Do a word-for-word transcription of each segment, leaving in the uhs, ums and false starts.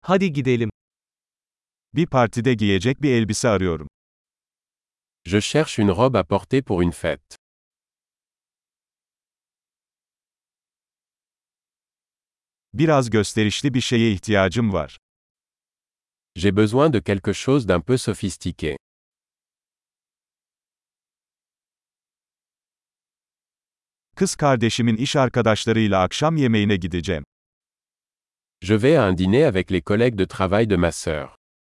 Hadi gidelim. Bir partide giyecek bir elbise arıyorum. Je cherche une robe à porter pour une fête. Biraz gösterişli bir şeye ihtiyacım var. J'ai besoin de quelque chose d'un peu sophistiqué. Kız kardeşimin iş arkadaşlarıyla akşam yemeğine gideceğim. Je vais à un dîner avec les collègues de travail de ma sœur.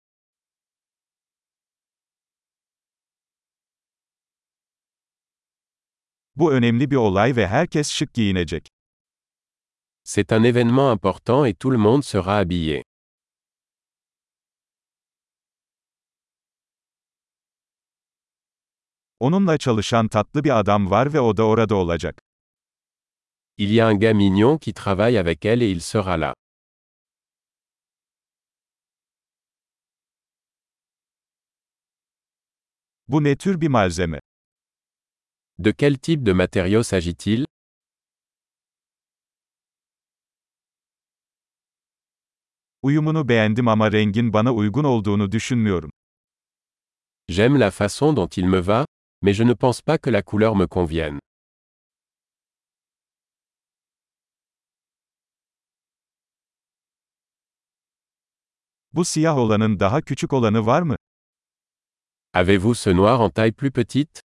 Bu önemli bir olay ve herkes şık giyinecek. C'est un événement important et tout le monde sera habillé. Onunla çalışan tatlı bir adam var ve o da orada olacak. Il y a un gars mignon qui travaille avec elle et il sera là. Bu ne tür bir malzeme? De quel type de matériau s'agit-il? Uyumunu beğendim ama rengin bana uygun olduğunu düşünmüyorum. J'aime la façon dont il me va, mais je ne pense pas que la couleur me convienne. Bu siyah olanın daha küçük olanı var mı? Avez-vous ce noir en taille plus petite?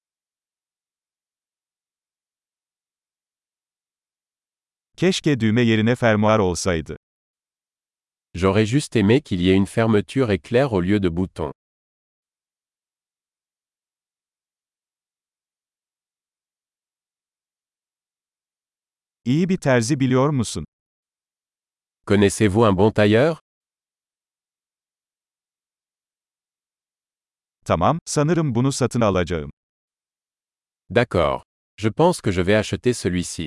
Keşke düğme yerine fermuar olsaydı. J'aurais juste aimé qu'il y ait une fermeture éclair au lieu de bouton. İyi bir terzi biliyor musun? Connaissez-vous un bon tailleur? Tamam, sanırım bunu satın alacağım. D'accord. Je pense que je vais acheter celui-ci.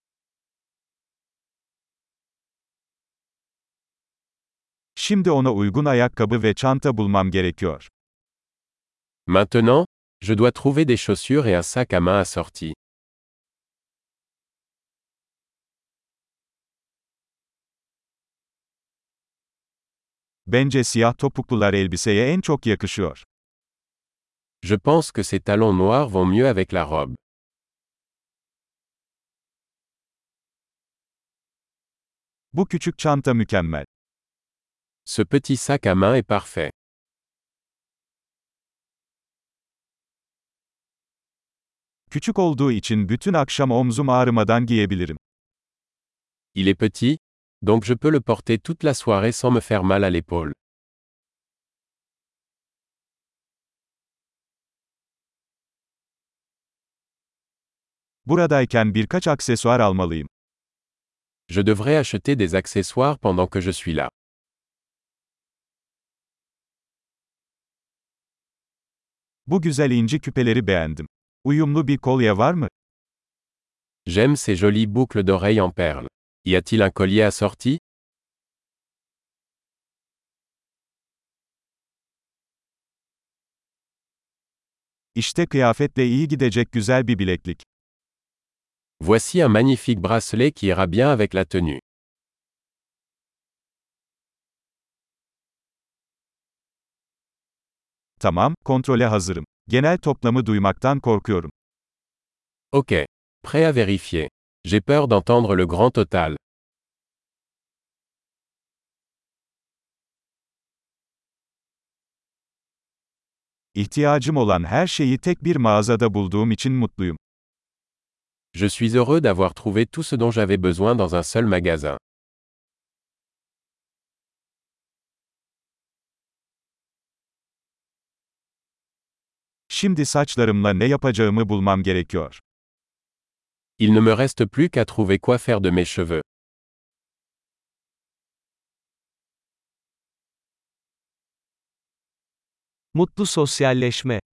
Şimdi ona uygun ayakkabı ve çanta bulmam gerekiyor. Maintenant, je dois trouver des chaussures et un sac à main assorti. Bence siyah topuklular elbiseye en çok yakışıyor. Je pense que ces talons noirs vont mieux avec la robe. Bu küçük çanta mükemmel. Ce petit sac à main est parfait. Küçük olduğu için bütün akşam omzum ağrımadan giyebilirim. Il est petit, donc je peux le porter toute la soirée sans me faire mal à l'épaule. Buradayken birkaç aksesuar almalıyım. Je devrais acheter des accessoires pendant que je suis là. Bu güzel inci küpeleri beğendim. Uyumlu bir kolye var mı? J'aime ces jolies boucles d'oreilles en perles. Y a-t-il un collier assorti? İşte kıyafetle iyi gidecek güzel bir bileklik. Voici un magnifique bracelet qui ira bien avec la tenue. Tamam, kontrole hazırım. Genel toplamı duymaktan korkuyorum. Ok. Prêt à vérifier. J'ai peur d'entendre le grand total. İhtiyacım olan her şeyi tek bir mağazada bulduğum için mutluyum. Je suis heureux d'avoir trouvé tout ce dont j'avais besoin dans un seul magasin. Şimdi saçlarımla ne yapacağımı bulmam gerekiyor. Il ne me reste plus qu'à trouver quoi faire de mes cheveux. Mutlu sosyalleşme.